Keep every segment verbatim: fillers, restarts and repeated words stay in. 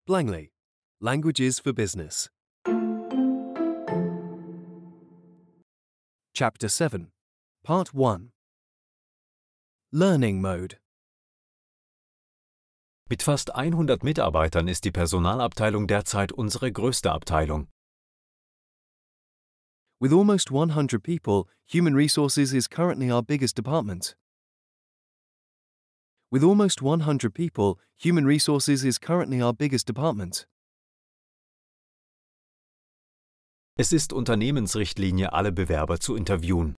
Langley, Languages for Business. Chapter seven, Part one. Learning Mode. Mit fast hundert Mitarbeitern ist die Personalabteilung derzeit unsere größte Abteilung. With almost one hundred people, Human Resources is currently our biggest department. With almost one hundred people, Human Resources is currently our biggest department. Es ist Unternehmensrichtlinie, alle Bewerber zu interviewen.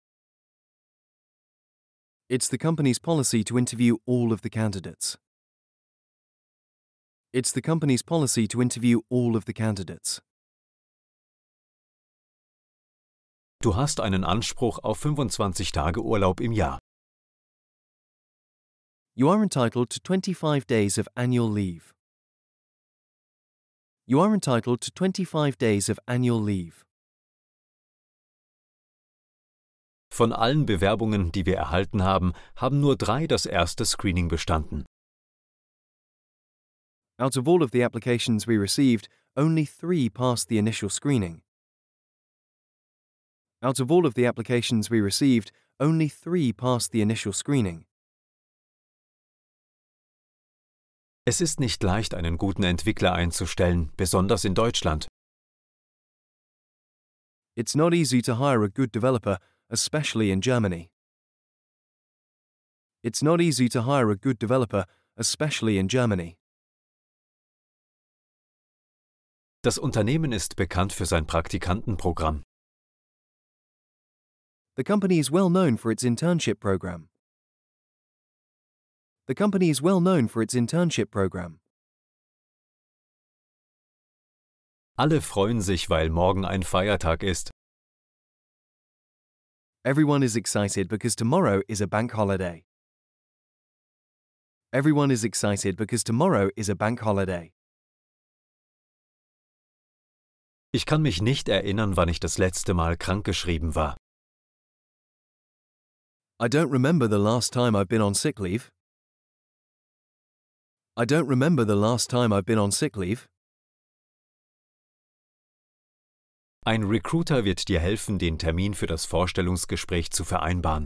It's the company's policy to interview all of the candidates. It's the company's policy to interview all of the candidates. Du hast einen Anspruch auf fünfundzwanzig Tage Urlaub im Jahr. You are entitled to twenty-five days of annual leave. You are entitled to twenty-five days of annual leave. Von allen Bewerbungen, die wir erhalten haben, haben nur drei das erste Screening bestanden. Out of all of the applications we received, only three passed the initial screening. Out of all of the applications we received, only three passed the initial screening. Es ist nicht leicht, einen guten Entwickler einzustellen, besonders in Deutschland. It's not easy to hire a good developer, especially in Germany. It's not easy to hire a good developer, especially in Germany. Das Unternehmen ist bekannt für sein Praktikantenprogramm. The company is well known for its internship program. The company is well known for its internship program. Alle freuen sich, weil morgen ein Feiertag ist. Everyone is excited because tomorrow is a bank holiday. Everyone is excited because tomorrow is a bank holiday. Ich kann mich nicht erinnern, wann ich das letzte Mal krankgeschrieben war. I don't remember the last time I've been on sick leave. I don't remember the last time I've been on sick leave. Ein Recruiter wird dir helfen, den Termin für das Vorstellungsgespräch zu vereinbaren.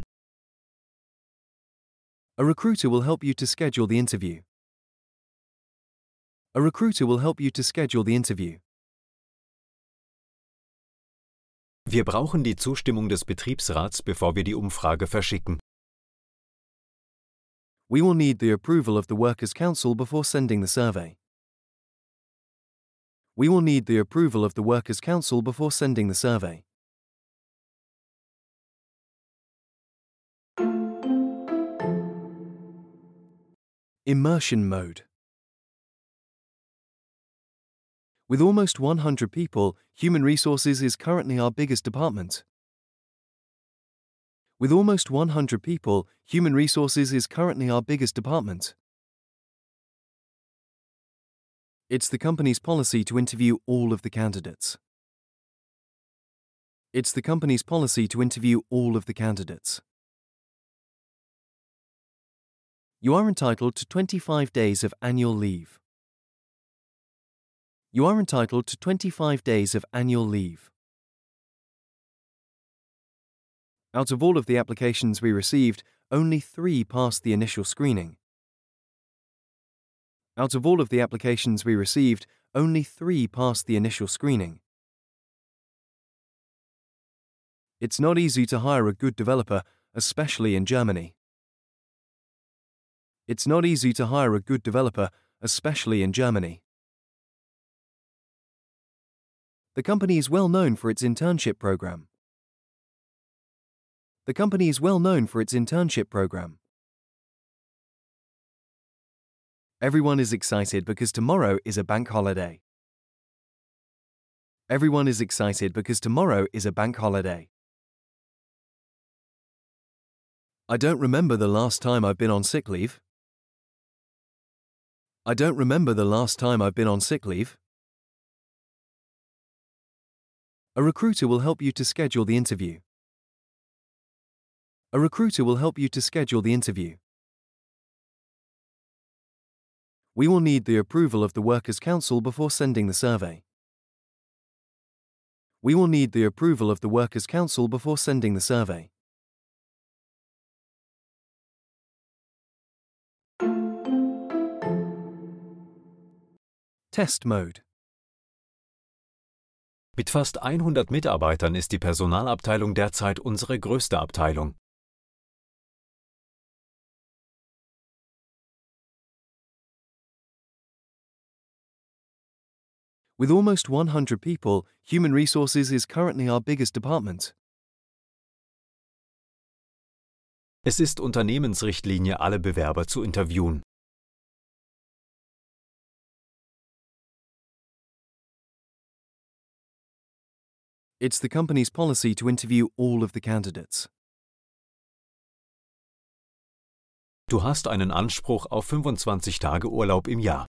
A recruiter will help you to schedule the interview. A recruiter will help you to schedule the interview. Wir brauchen die Zustimmung des Betriebsrats, bevor wir die Umfrage verschicken. We will need the approval of the Workers' Council before sending the survey. We will need the approval of the Workers' Council before sending the survey. Immersion mode. With almost one hundred people, Human Resources is currently our biggest department. With almost one hundred people, Human Resources is currently our biggest department. It's the company's policy to interview all of the candidates. It's the company's policy to interview all of the candidates. You are entitled to twenty-five days of annual leave. You are entitled to twenty-five days of annual leave. Out of all of the applications we received, only three passed the initial screening. Out of all of the applications we received, only three passed the initial screening. It's not easy to hire a good developer, especially in Germany. It's not easy to hire a good developer, especially in Germany. The company is well known for its internship program. The company is well known for its internship program. Everyone is excited because tomorrow is a bank holiday. Everyone is excited because tomorrow is a bank holiday. I don't remember the last time I've been on sick leave. I don't remember the last time I've been on sick leave. A recruiter will help you to schedule the interview. A recruiter will help you to schedule the interview. We will need the approval of the Workers' Council before sending the survey. We will need the approval of the Workers' Council before sending the survey. Test Mode. Mit fast hundert Mitarbeitern ist die Personalabteilung derzeit unsere größte Abteilung. With almost one hundred people, Human Resources is currently our biggest department. Es ist Unternehmensrichtlinie, alle Bewerber zu interviewen. It's the company's policy to interview all of the candidates. Du hast einen Anspruch auf fünfundzwanzig Tage Urlaub im Jahr.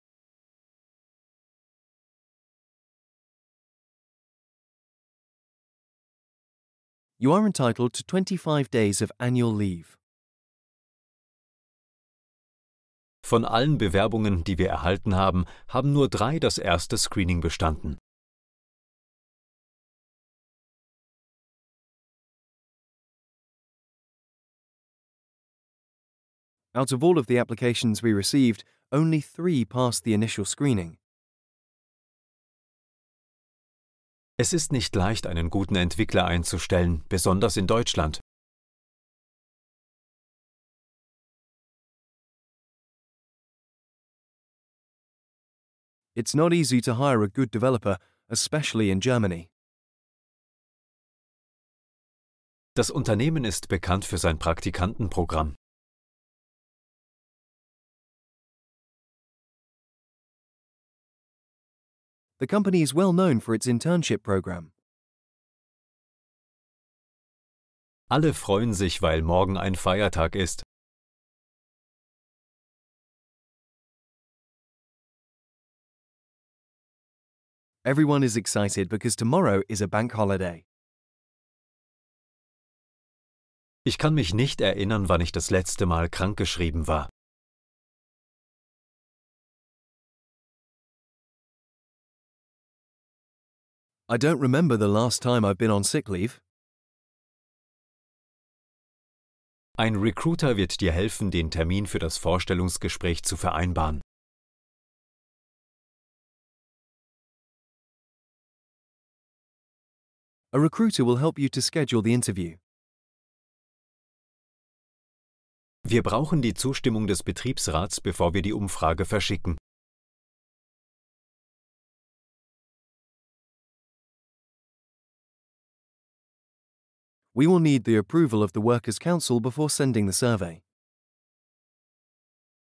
You are entitled to twenty-five days of annual leave. Von allen Bewerbungen, die wir erhalten haben, haben nur drei das erste Screening bestanden. Out of all of the applications we received, only three passed the initial screening. Es ist nicht leicht, einen guten Entwickler einzustellen, besonders in Deutschland. It's not easy to hire a good developer, especially in Germany. Das Unternehmen ist bekannt für sein Praktikantenprogramm. The company is well known for its internship program. Alle freuen sich, weil morgen ein Feiertag ist. Everyone is excited because tomorrow is a bank holiday. Ich kann mich nicht erinnern, wann ich das letzte Mal krankgeschrieben war. I don't remember the last time I've been on sick leave. Ein Recruiter wird dir helfen, den Termin für das Vorstellungsgespräch zu vereinbaren. A recruiter will help you to schedule the interview. Wir brauchen die Zustimmung des Betriebsrats, bevor wir die Umfrage verschicken. We will need the approval of the Workers' Council before sending the survey.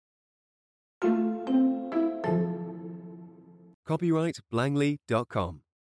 Copyright Blangley dot com